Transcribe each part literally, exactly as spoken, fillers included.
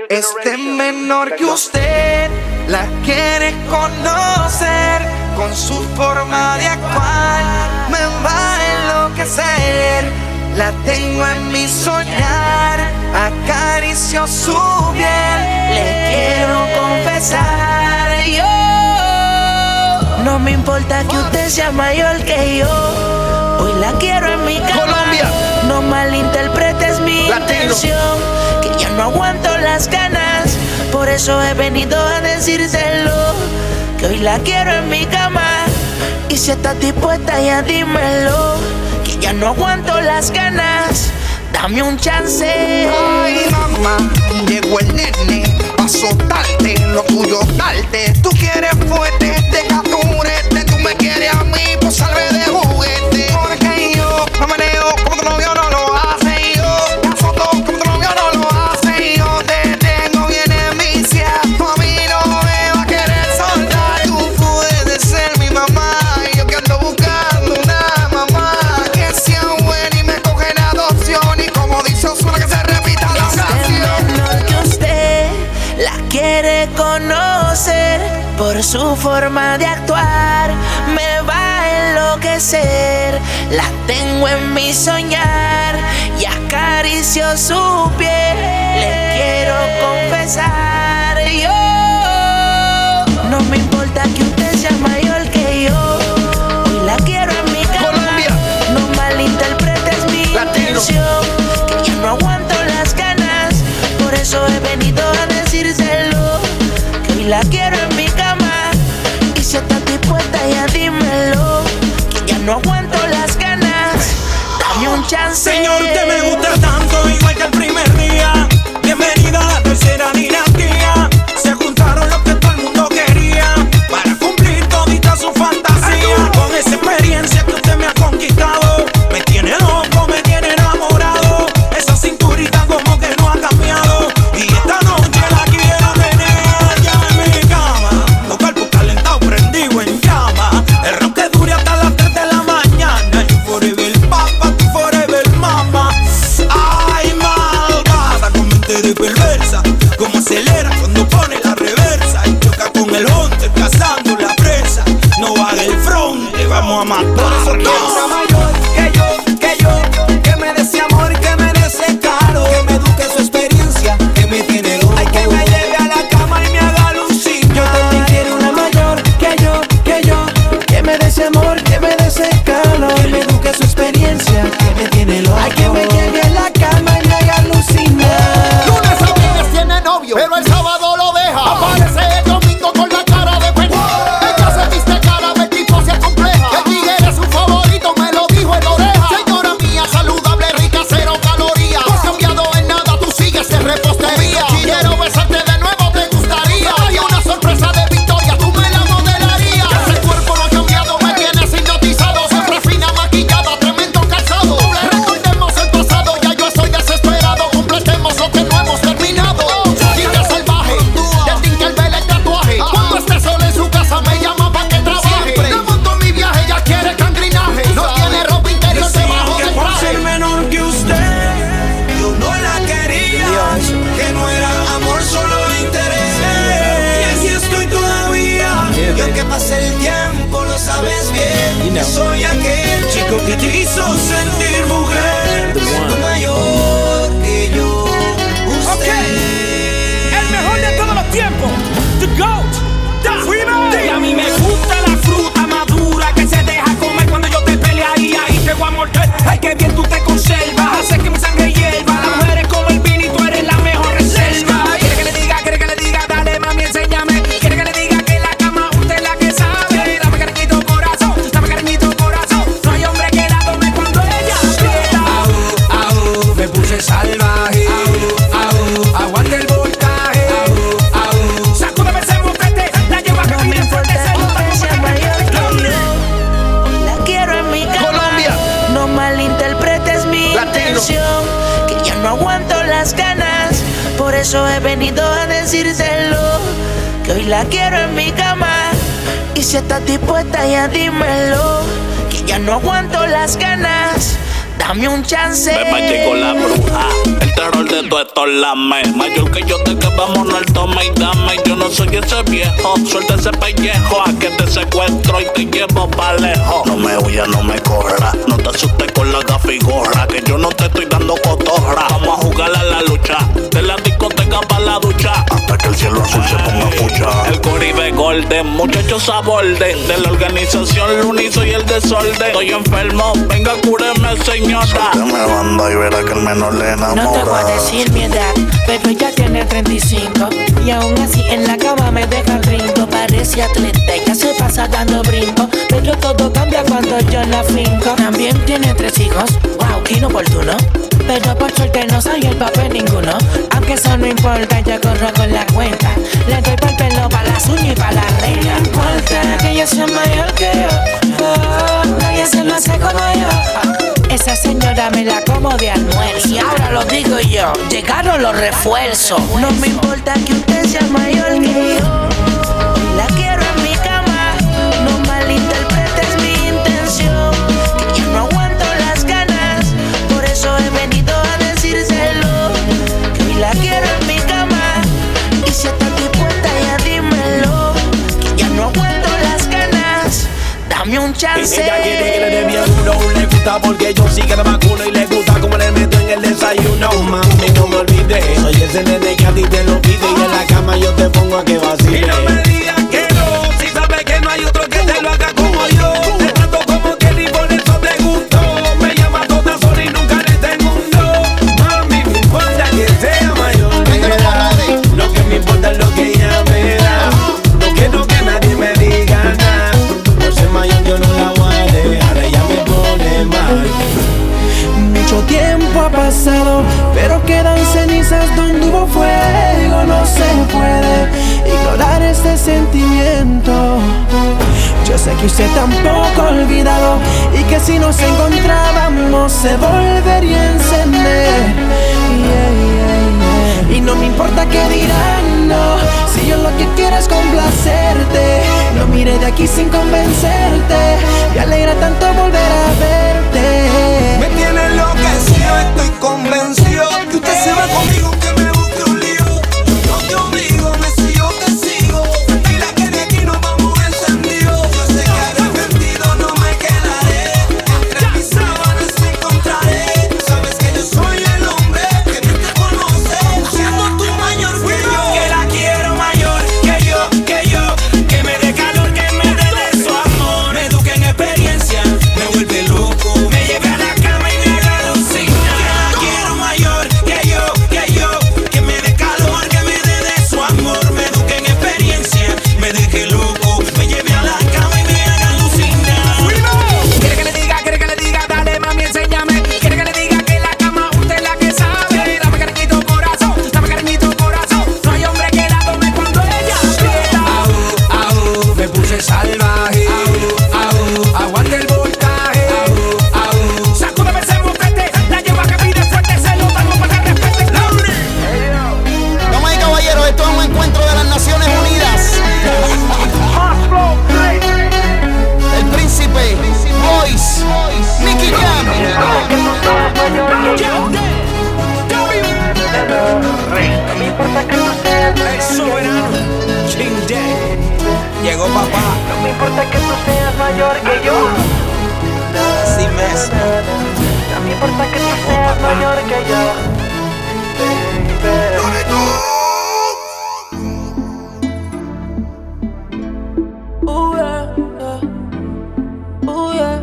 Este menor que usted la quiere conocer, con su forma de actuar me va a enloquecer. La tengo en mi soñar, acaricio su piel, le quiero confesar. Yo no me importa que usted sea mayor que yo, hoy la quiero en mi cama. Colombia. No malinterpretes mi Latino. intención, que ya no aguanto las ganas, por eso he venido a decírselo, que hoy la quiero en mi cama. Y si estás dispuesta ya dímelo, que ya no aguanto las ganas, dame un chance. Ay, mamá, llegó el nene pa' soltarte, lo tuyo darte. Tú quieres fuerte, deja tu murete. Tú me quieres a mí, pues salve de juguete. Porque yo me meneo como tu novio no lo hace. Yo te azoto como tu novio no lo hace. Yo te tengo bien enviciado, tú a mí no me vas a querer soltar. Tú puedes ser mi mamá, yo que ando buscando una mamá que sea buena y me coge en adopción. Y como dice Ozuna, que se repita la canción. Menor que usted la quiere conocer, por su forma de actuar me va a enloquecer. La tengo en mi soñar y acaricio su piel, le quiero confesar. Yo no me importa que usted sea mayor que yo, hoy la quiero en mi cama. Colombia. No malinterpretes mi Latino. intención, que ya no aguanto las ganas, por eso he venido a decírselo, que hoy la quiero en mi cama. Y si estás dispuesta ya dímelo, que ya no aguanto las ganas, dame un chance. Señor, usted me gusta tanto, igual que el primer día. Bienvenida a la tercera dinastía. Se juntaron los que todo el mundo quería para cumplir todita su fantasía. Con esa experiencia que usted me ha conquistado, me tiene loco, me tiene enamorado. Esa cinturita como que no ha cambiado, y esta noche la quiero tener ya en mi cama. Los cuerpos calentados, prendidos en llama. El rock que dure hasta las tres de la mañana. You forever papa, tú forever mama. Ay, malvada, con mente de perversa. Como acelera cuando pone la reversa y choca con el hunter, cazando la presa. No haga el front, te vamos a matar. Piensa mayor que yo, que yo, que me dé amor, que me dé ese caro, que me eduque su experiencia, que me tiene loco. Ay, que me lleve a la cama y me haga lucir. Yo también quiero una mayor que yo, que yo, que me dé ese amor, que me dé ese calor, que me eduque su experiencia, que me tiene loco. Ay, que me lleve a la cama y me haga alucinar. Lunes a viernes tiene novio, pero el sábado lo deja. Aparece el domingo con la cara de pendeja. Ella se viste cara de tipo se compleja. Que el tigre es su favorito, me lo dijo en la oreja. Señora mía, saludable, rica, cero calorías. No has cambiado en nada, tú sigues en repostería. Quiero besarte de nuevo, te gustaría. Hay una sorpresa de Victoria, tú me la modelarías. Ese cuerpo no ha cambiado, me tienes hipnotizado. Siempre fina, maquillada, tremendo calzado. Recordemos el pasado, ya yo estoy desesperado. Completemos lo que no hemos terminado. Chiquita salvaje, de tinta el vela el tatuaje. Cuando esté sola en su casa me llama pa' que trabaje. De monto en mi viaje, ella quiere cangrinaje. No tiene ropa interior debajo que del por ser traje. menor que usted, yo no la quería, que no era amor, solo interés. Y así estoy todavía. Y aunque pase el tiempo, lo sabes bien, yo soy aquel chico que te hizo sentir mujer, siendo mayor que yo. Usted, El mejor de todos los tiempos, The GOAT, The Freeman. y a mí me gusta la fruta madura que se deja comer cuando yo te pelearía y te voy a morder. Ay, que bien tú te conservas, hace que mi sangre hierva. Las mujeres como el vino y tú eres la mejor reserva. Quiere que le diga, quiere que le diga, dale mami, enséñame. Quiere que le diga que en la cama usted es la que sabe. Dame cariñito corazón, dame cariñito corazón. No hay hombre que la tome cuando ella aprieta. Au, au, me puse salvaje. Au, au, aguante el voltaje. Au, au, Sacúdeme ese motete, la llevo a No me caminar fuerte, importa se monta que como sea que mayor me que yo, quiere. hoy la quiero en mi cama. Colombia. No malinterpretes mi Latino. intención, que ya no aguanto las ganas, por eso he venido a decírselo, que hoy la quiero en mi cama. Y si estás dispuesta ya dímelo, que ya no aguanto las ganas, dame un chance. Beba llegó la bruja, el terror de todo esto es la me. Mayor que yo te queda toma y dame, yo no soy ese viejo. Suelta ese pellejo, a que te secuestro y te llevo pa' lejos. No me huyas, no me corra, no te asustes con la gafigorra, que yo no te estoy dando cotorra. Vamos a jugar a la lucha, de la discoteca pa' la ducha, hasta que el cielo azul se ponga fucha. El Caribe Golden, muchachos aborden, de la organización Luni soy el desorden. Estoy enfermo, venga cúreme señora. Suélteme banda y verá que el menor le enamora. No te voy a decir mi edad, pero ella tiene treinta y cinco y aún así en la cama me deja rindo. Parece atleta, ella se pasa dando brinco, pero todo cambia cuando yo la finco. También tiene tres hijos, wow, qué inoportuno, pero por suerte no soy el papel ninguno. Aunque eso no importa, yo corro con la cuenta. Le doy pa'l pelo, pa' las uñas y pa' la reina. No importa que ella sea mayor que yo, oh, nadie se lo hace como yo. Esa señora me la como de almuerzo. Y ahora lo digo yo, llegaron los refuerzos. No me importa que usted sea mayor que yo, la quiero en mi cama. No malinterpretes mi intención, que ya no aguanto las ganas. Por eso he venido a decírselo, que hoy la quiero en mi cama. Y si estás dispuesta ya dímelo, que ya no aguanto las ganas. Dame un chance. Ella quiere que le dé bien uno, le gusta porque yo sí que la vacuno y le gusta como le meto en el desayuno. Mami, no me olvides, soy ese nene que a ti te lo pide y en la cama yo te pongo a que vacile. Y no me digas que no, si sabes que no hay otro que te lo haga como yo. Te trato como que ni por eso te gustó. Me llama toda sola y nunca en este mundo. Mami, me importa que sea mayor de edad, lo que me importa es lo que ella me da. No quiero que nadie me diga nada, por ser mayor yo no la voy a dejar, ella me pone mal. Mucho tiempo ha pasado, pero quedan cenizas donde hubo fuego. No se puede ignorar este sentimiento. Yo sé que usted tampoco ha olvidado y que si nos encontrábamos se volvería a encender. Yeah, yeah, yeah. Y no me importa qué dirán, no, si yo lo que quiero es complacerte. No mire de aquí sin convencerte, me alegra tanto volver a verte. Me tiene enloquecido, estoy convencido que usted se va conmigo, que me busque un lío. Yo no te obligo, me sigo, te sigo. Tranquila que de aquí nos vamos encendidos. Yo sé que arrepentido no me quedaré, entre mis sábanas encontraré. Sabes que yo soy el hombre que bien te conoce, siendo tú mayor que yo. Que la quiero mayor que yo, que yo, que me dé calor, que me dé de su amor. Me eduque en experiencia, me vuelve loco, me lleve a la cama y me haga alucinar. Que la quiero mayor que yo, que yo, que me dé calor, que me dé de su amor. Me eduque en experiencia, me deje loco, me lleve a la cama y me haga alucinar. Quiere que le diga, quiere que le diga, dale mami, enséñame. Quiere que le diga que la cama usted es la que sabe. Dame cariñito corazón, dame cariñito corazón. No hay hombre que la tome cuando ella aprieta. Au, au, me puse salvaje. Au, au, aguante el voltaje. Au, au, sacúdame ese mofete, la llevo a que pide fuerte, se lo damos para que respete. Damas y caballeros, esto es un encuentro de las Naciones Unidas. El príncipe, Boys, Nicky Jam. El soberano, King Day. Llegó papá. No me importa que tú seas mayor que yo, Así mes. no me importa que tú seas mayor que yo, baby. Ooh, yeah, yeah. Ooh, yeah,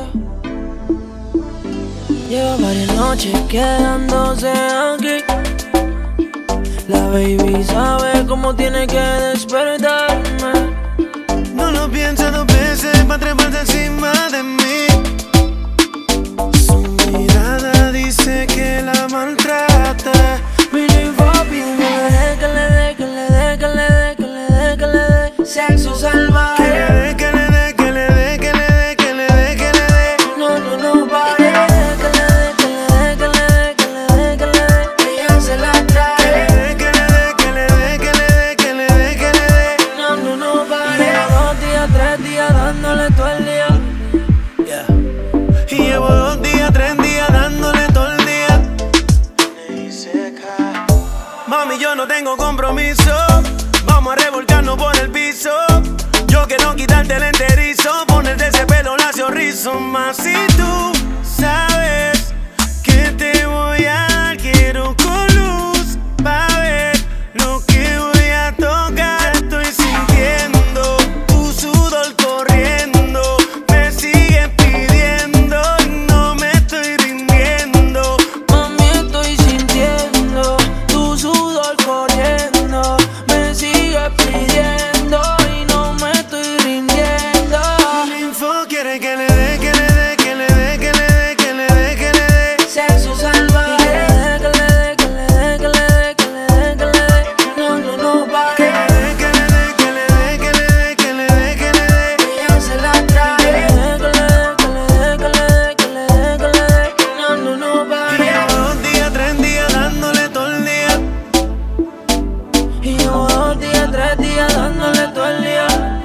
yeah. Lleva varias noches quedándose aquí. La baby sabe cómo tiene que despertarme. No lo piensa dos veces pa' treparse encima de mí. Su mirada dice que la maltrata. Billy Bobby, no le dé, que le dé, que le dé, que le dé, que le dé, que le dé sexo salvaje. Que le dé, que le dé, que le dé, que le dé, que le dé, que le dé. No, no, no pare. Que le dé, que le dé, que le dé, que le dé, que le dé. Ella se la trae. Que le dé, que le dé, que le dé, que le dé, que le dé. No, no, no pare. Llevo dos días, tres días dándole todo el día. Y llevo dos días, tres días dándole todo el día. Mami, yo no tengo compromiso. vamos a revolcarnos por el piso. Yo quiero quitarte el enterizo, ponerte ese pelo lacio rizo. Más si tú sabes que te voy a dar, quiero con luz pa' ver lo que voy a tocar. Estoy sintiendo tu sudor corriendo, me sigues pidiendo y no me estoy rindiendo. Mami, estoy sintiendo tu sudor corriendo, me sigues pidiendo y no me estoy rindiendo. El info quiere que le dé, que le dé, que le dé, que le dé, que le dé, que le dé. Sexo salvaje. Que le dé, que le dé, que le dé, que le dé, que le dé. No, no, no, pa' Que le dé, que le dé, que le dé, que le dé, que le dé, que le dé. ella se la trae. Que le dé, que le dé, que le dé, que le dé, que le dé, que le dé. No, no, no, pa' Y llevo dos días, tres días dándole todo el día. Y llevo dos días, tres días dándole todo el día.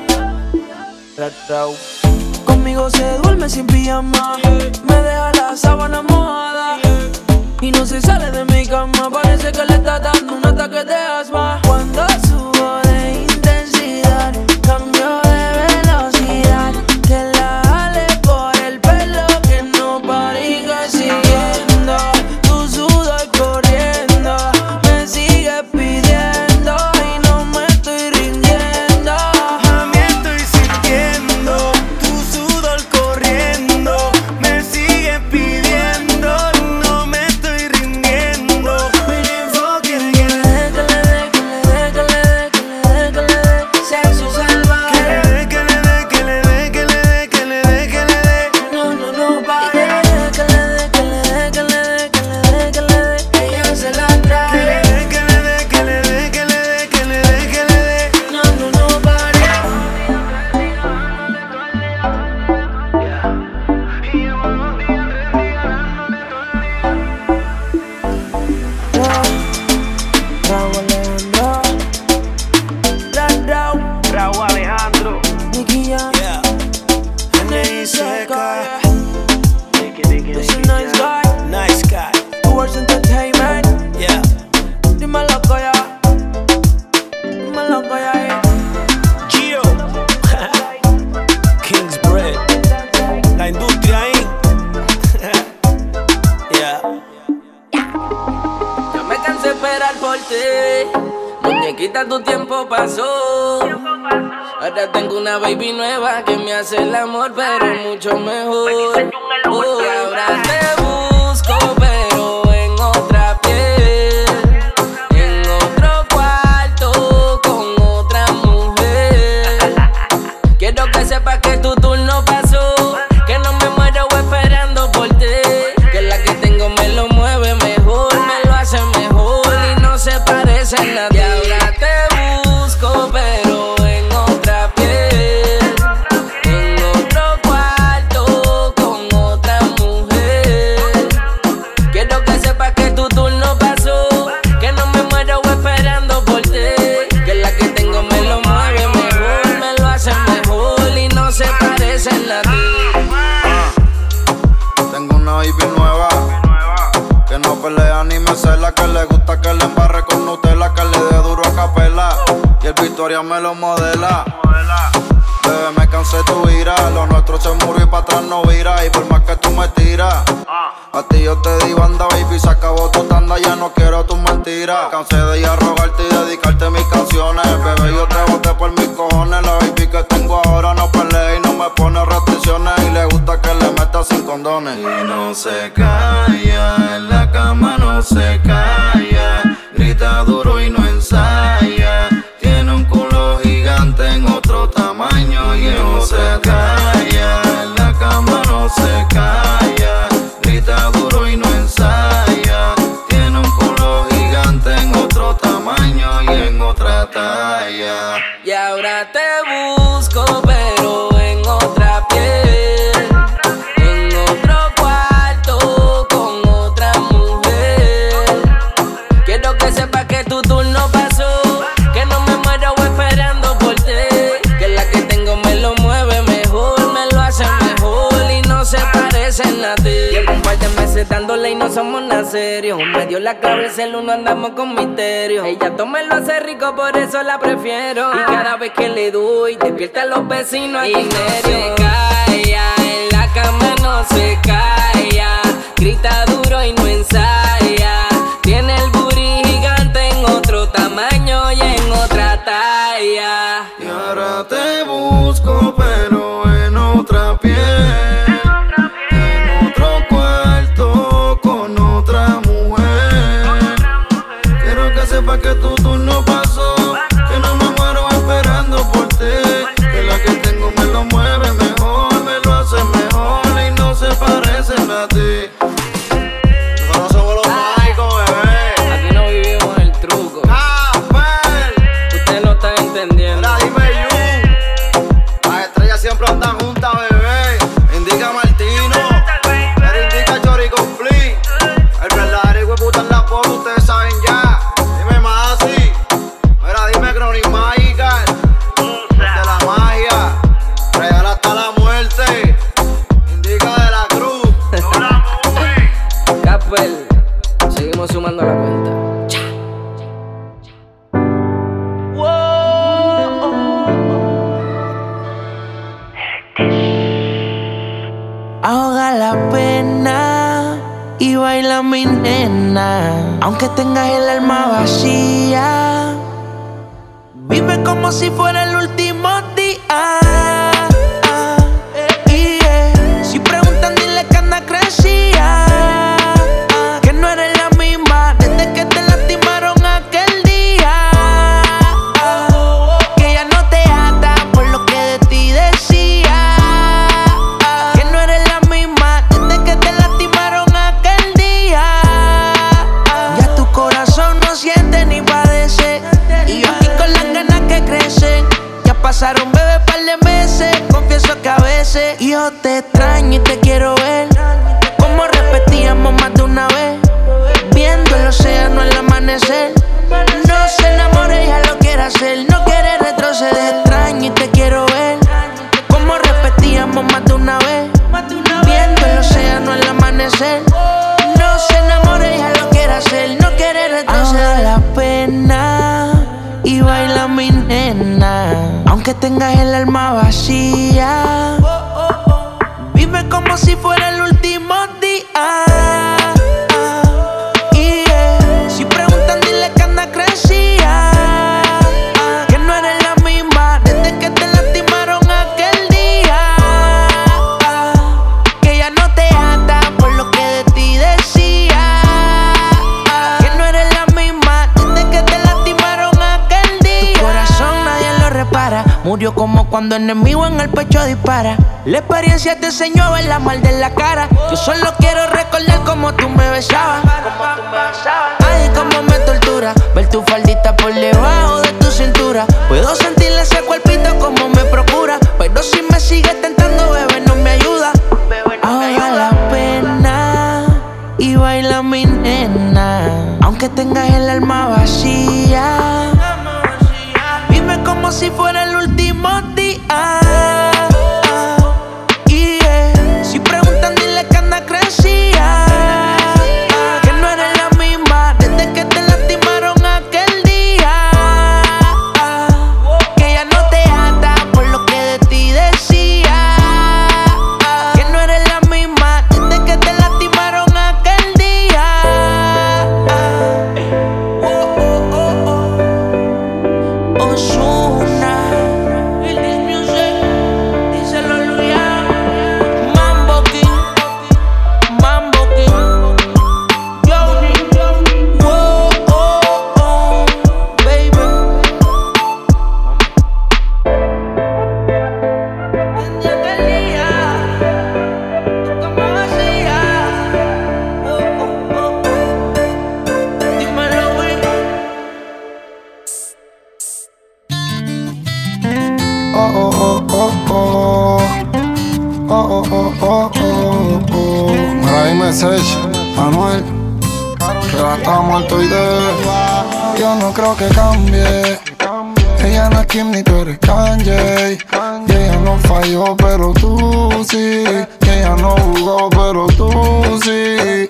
Conmigo se duerme sin pijama, me deja la sábana mojada y no se sale de mi cama. Parece que le está dando un ataque de asma. Cuando subo de intensidad, cambio de velocidad, que la jale por el pelo, que no pariga siguiendo tu sudor corriendo, me sigue pidiendo y no me estoy rindiendo. Mami, estoy sintiendo tu sudor corriendo, me sigue pidiendo y no me estoy rindiendo. Mi info quiere que le dé, Que le dé, que le dé, que le dé, que le dé, que le dé. Sexo salvaje. que le dé, que le dé, que le dé, que le dé, que le dé, que le dé. No, no, no, pa' que le dé, que le dé, que le dé, que le dé, que le dé, que le dé. Ella se la Que le trae. dé, que le dé, que le dé, que le dé, que le dé, que le dé. No, no, no, pa' que Raúl Alejandro, Black Down, Raúl Alejandro. Nicky Jam, Yeah. N I C K. Nicky, Nicky, This is Nicky nice Jam. guy. Nice guy. Towards Entertainment. Yeah. Dímelo, Coya. Dímelo, Coya. Gio. King's Bread. La industria ahí. Yeah. No me cansé de esperar por ti. Muñequita, tu tiempo pasó. Ahora tengo una baby nueva que me hace el amor, pero mucho mejor. Oh, ahora te busco, pero en otra piel, en otro cuarto, con otra mujer. Quiero que sepas que tu turno pasó, que no me muero esperando por ti, que la que tengo me lo mueve mejor, me lo hace mejor y no se parece a nadie. Y ahora te busco, pero en otra piel, en otro cuarto, con otra mujer. Quiero que sepas que tu turno pasó, que no me muero esperando por ti, que la que tengo me lo mueve mejor, me lo hace mejor y no se parece a nadie. Tengo una baby nueva que no pelea ni me cela, que le gusta que le embarre con Nutella, que le dé duro a capela y el Victoria me lo modela. Bebé, me cansé de tu ira, lo nuestro se murió y pa' atrás no vira, y por más que tú me tiras, a ti yo te di banda, baby, se acabó tu tanda, ya no quiero tus mentiras. Cansé de ir a rogarte y dedicarte mis canciones, bebé, yo te boté por mis cojones. La baby que tengo ahora no pelea y no me pone restricciones, y le gusta que le meta sin condones. Y no se calla, en la cama no se calla, grita duro y no ensaya, tiene un culo gigante en otro tamaño y no se calla, en la cama no se calla, grita duro y no ensaya, tiene un culo gigante en otro tamaño y en otra talla. Y ahora te busco, pero en otra piel, en otro cuarto, con meses dándole y no somos nada serio. Me dio la clave el celu, no andamos con misterio. Ella toma y lo hace rico, por eso la prefiero. Y cada vez que le doy, despierta a los vecinos a y no se calla, en la cama no se calla. Grita duro y no ensaya. Tiene el booty gigante en otro tamaño y en otra talla. Y ahora te busco pero en otra piel, en otro cuarto con otra mujer. Quiero que sepas que tu turno pasó, que no me muero esperando por ti. Que la que tengo me lo mueve mejor, me lo hace mejor y no se parecen a ti. Nosotros somos los mágicos, bebé. Aquí no vivimos el truco. Usted no está entendiendo. Ahora dime you, las estrellas siempre andan juntas, bebé. Indica Martino, pero indica Chori con Flea. El verdadero hijo de puta en la pop, ustedes saben ya. Dime más así, mira dime Chronic Magical. De la magia, real hasta la muerte. Indica de la cruz. Capel, seguimos sumando la cuenta. Ahoga la pena y baila mi nena. Aunque tengas el alma vacía, vive como si fuera el último día. Yeah. Si preguntan, dile que anda crecía, que no eres la misma desde que te lastimaron aquel día. Que ya no te ata por lo que de ti decía. Que no eres la misma desde que te lastimaron aquel día. Ya tu corazón no siente ni padece, y yo aquí con las ganas que crecen. Ya pasaron, bebé, par de meses. Confieso que a veces yo te extraño y te quiero ver, como repetíamos más de una vez, viendo el océano al amanecer. No se enamore, ya lo quiere hacer, no quiere retroceder. Extraño y te quiero ver, como repetíamos más de una vez, viendo el océano al amanecer. No se enamore, ya lo quiere hacer, no quiere retroceder. Ahoga la pena y baila mi nena. Aunque tengas el alma vacía, vive como si fuera el último día. Yeah. Si preguntan, dile que anda crecía, que no eres la misma desde que te lastimaron aquel día. Que ya no te ata por lo que de ti decía. Que no eres la misma desde que te lastimaron aquel día. Tu corazón nadie lo repara, murió como cuando enemigo en el pecho dispara. La experiencia te enseñó a ver la mal de la cara. Yo solo quiero recordar cómo tú me besabas. Ay, cómo me tortura ver tu faldita por debajo de tu cintura. Puedo sentirle ese cuerpito como me procura, pero si me sigues tentando, bebé, no me ayuda. Ahoga la pena y baila mi nena. Aunque tengas el alma vacía, vive como si fuera el último día. Yeah. Si preguntan, dile que anda crecía, que no eres la misma desde que te lastimaron aquel día. Que ya no te ata por lo que de ti decía. Que no eres la misma desde que te lastimaron aquel día. Oh, oh, oh, oh. Ozuna, This Music, díselo Luyan, Mambo King, Mambo King, Johnny, oh, oh, oh, baby. Desde aquel día, como vacía, oh, oh, oh, dímelo, güey. Oh, oh, oh, oh, oh. Oh, oh, oh, oh, oh, oh. Mira, dime, Sech, Manuel, que va a estar muerto y de. Yo no creo que cambie. Ella no es Kim ni tú eres Kanye. Y ella no falló, pero tú sí. Y ella no jugó, pero tú sí.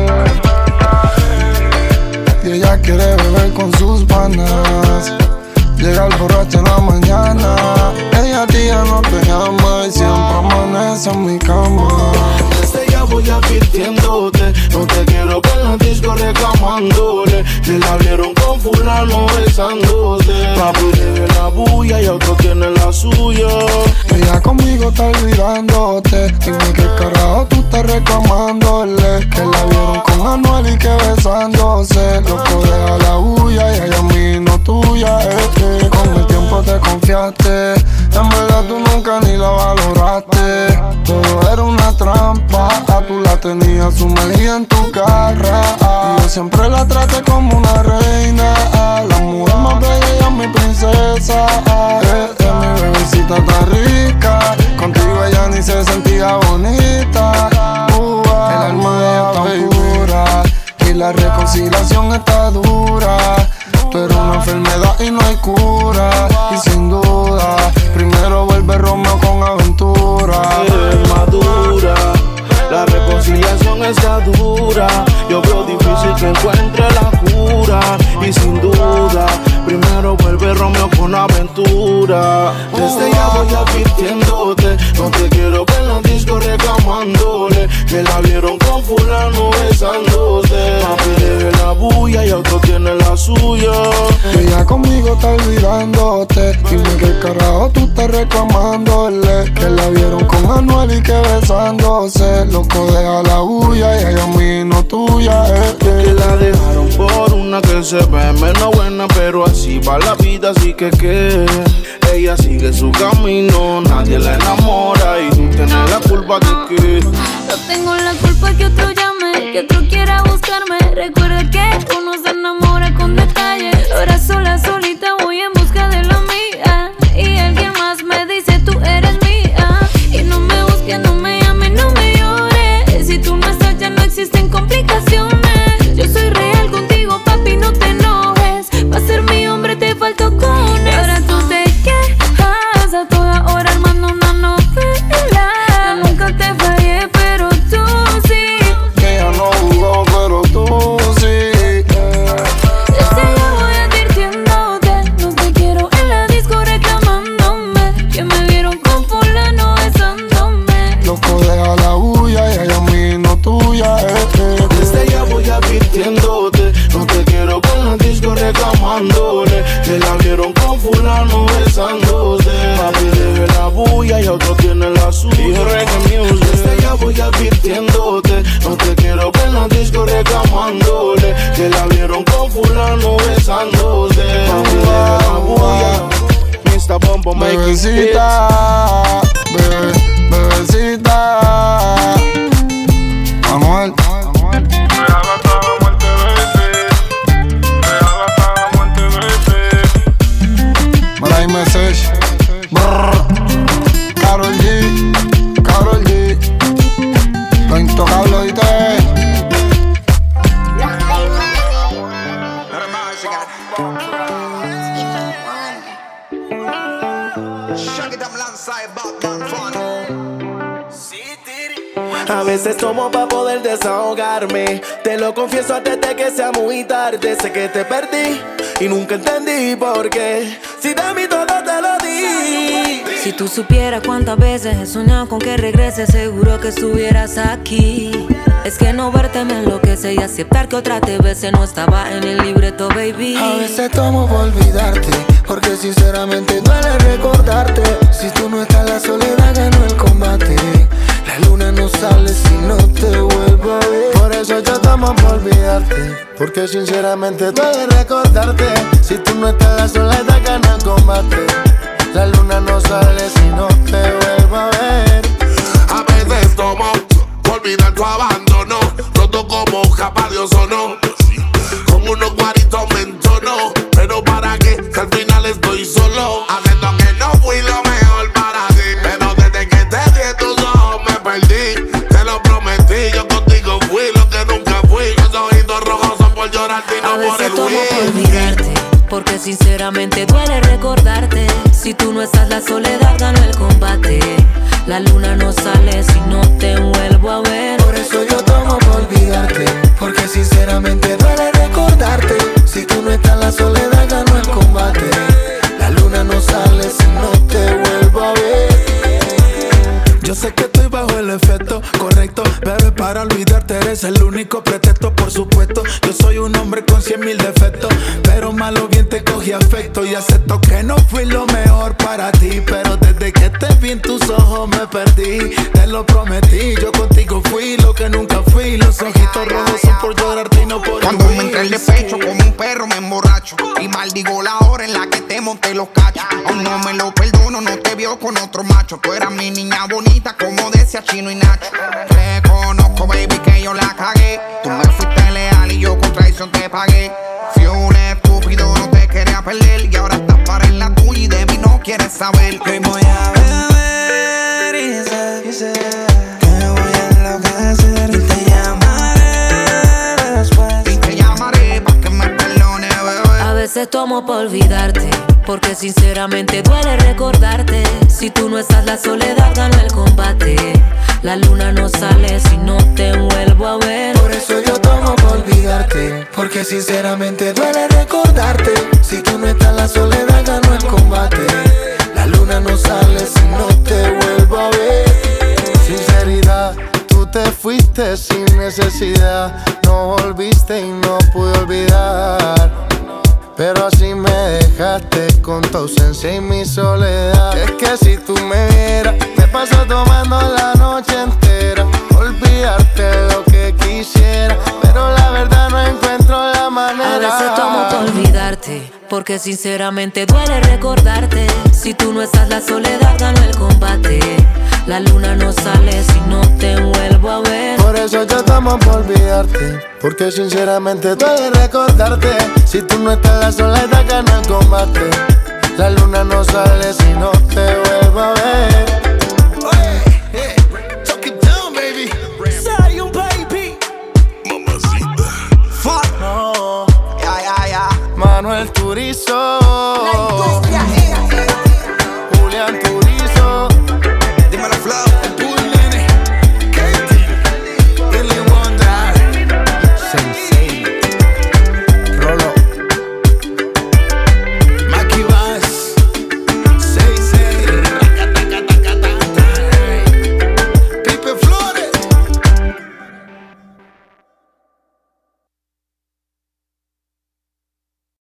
Y ella quiere beber con sus panas. Llega el borracho en la mañana. Ella a ti ya no te llama y siempre amanece en mi cama. Desde ya voy advirtiéndote, no te quiero ver en la disco reclamándole. Que la vieron con fulano besándote. Papi debe la bulla y otro tiene la suya. Ella conmigo está olvidándote. Dime qué carajo tú estás reclamándole. Que la vieron con Anuel y que besándose. Loco, deja la bulla y ella a mí no tuya. Eh, eh. Con el tiempo te confiaste. En verdad tú nunca ni la valoraste. Todo era una trampa. Tú la tenías sumergida en tu garra. Y yo siempre la traté como una reina. La mujer más bella y mi princesa. Eh, eh, mi bebecita está rica. Contigo ella ni se sentía bonita. Uh, el alma de ella está pura. Y la reconciliación está dura. Tú eres una enfermedad y no hay cura. Y sin duda, primero vuelve Romeo con aventura. Es madura. La reconciliación está dura. Yo veo difícil que encuentre la cura. Y sin duda, primero vuelve Romeo con aventura. Desde ya voy advirtiéndote, no te quiero ver en la disco reclamándole. Que la vieron con fulano besándose. Papi debe la bulla y otro tiene la suya. Ella conmigo está olvidándote. Dime qué carajo tú estás reclamándole. Que la vieron con Anuel y que besándose. Loco, deja la bulla y ella a mí no tuya. Eh, eh. Que la dejaron por una que se ve menos buena, pero así va la vida, así que que ella sigue su camino, nadie la enamora y tú tienes la culpa de que yo tengo la culpa que otro llame, que otro quiera buscarme. Recuerda que uno se enamora con detalles. Ahora sola, solita voy en busca de la mía. Y alguien más me dice tú eres mía. Y no me busques, no me llames, no me llores. Si tú no estás ya no existen complicaciones. Yo soy real contigo, papi, no te enojes. Pa' ser mi hombre te faltó con él. Ahora tú te quejas a toda hora armando una novela. Yo nunca te fallé, pero tú sí. Que ella no jugó, pero tú sí. Desde ya voy advirtiéndote, no te quiero en la disco reclamándome. Que me vieron con fulano besándome. Loco, deja la bulla y ella a mí no tuya. Eh, eh. Desde ya voy advirtiéndote, no te quiero ver en la disco reclamándole. Que la vieron con fulano besándose. Papi debe la bulla y otro tiene la suya. Y reggae music. Desde ya voy advirtiéndote, no te quiero ver en la disco reclamándole. Que la vieron con fulano besándose. Papi debe la bulla. mister Bombo make it Bebecita, bebé, bebecita Anuel. Mala message. Karol G, Karol G, lo intocable, ¿oíste? A veces tomo pa' poder desahogarme. Te lo confieso antes de que sea muy tarde. Sé que te perdí y nunca entendí por qué. Si de mí todo te lo di. Si tú supieras cuántas veces he soñado con que regreses, seguro que estuvieras aquí. Es que no verte me enloquece y aceptar que otra te bese no estaba en el libreto, baby. A veces tomo por olvidarte, porque sinceramente duele recordarte. Si tú no estás, la soledad ganó el combate. La luna no sale si no te vuelvo a ver. Por eso yo tomo por olvidarte, porque sinceramente duele recordarte. Si tú no estás, la soledad gana el combate. La luna no sale si no te vuelvo a ver. A veces tomo por olvidar tu abandono, roto como capa de ozono. Con unos guaritos me entono, pero para qué, si al final estoy solo. Haciendo que no fui lo mejor para ti, pero desde que te vi en tus ojos me perdí. Te lo prometí, yo contigo fui lo que nunca fui. Los ojitos rojos son por llorarte y no por el tomo huir. por olvidarte, porque sinceramente duele recordarte. Si tú no estás, la soledad ganó el combate. La luna no sale si no te vuelvo a ver. Por eso yo tomo por olvidarte, porque sinceramente duele recordarte. Si tú no estás, la soledad ganó el combate. La luna no sale si no te vuelvo a ver. Yo sé que estoy bajo el efecto, correcto, bebé, para olvidarte eres el único pretexto, por supuesto. Yo soy un hombre con cien mil defectos, pero malo bien te cogí afecto. Y acepto que no fui lo mejor para ti, pero desde que te vi en tus ojos me perdí. Te lo prometí, yo contigo fui lo que nunca fui. Los ojitos rojos son por llorarte y no por Cuando me entré el despecho como un perro me emborracho y maldigo la hora en la que te monté los cachos. Aún no me lo perdono, no te vio con otro macho. Tú eras mi niña bonita como decía Chino y Nacho. Reconozco, baby, que yo la cagué. Tú me fuiste leal y yo con traición te pagué. Fui un estúpido, no te quería perder. Y ahora estás para en la tuya y de mí no quieres saber. Que voy a beber y sé, y sé que me voy a enloquecer. Y te llamaré después. Y te llamaré pa' que me perdone, bebé. A veces tomo por olvidarte, porque sinceramente duele recordarte. Si tú no estás, la soledad gana el combate. La luna no sale si no te vuelvo a ver. Por eso yo tomo por olvidarte, porque sinceramente duele recordarte. Si tú no estás, la soledad ganó el combate. La luna no sale si no te vuelvo a ver. Sinceridad, tú te fuiste sin necesidad. No volviste y no pude olvidar. Pero así me dejaste con tu ausencia y mi soledad. Es que si tú me vieras, me paso tomando la noche entera. Olvidarte lo que quisiera, pero la verdad no encuentro la manera. A veces tomo por olvidarte, porque sinceramente duele recordarte. Si tú no estás, la soledad ganó el combate. La luna no sale si no te vuelvo a ver. Por eso yo tomo por olvidarte, porque sinceramente duele recordarte. Si tú no estás, la soledad gana el combate. La luna no sale si no te vuelvo a ver. Fuck. No. Ya, ya, ya. Manuel Turizo. La industria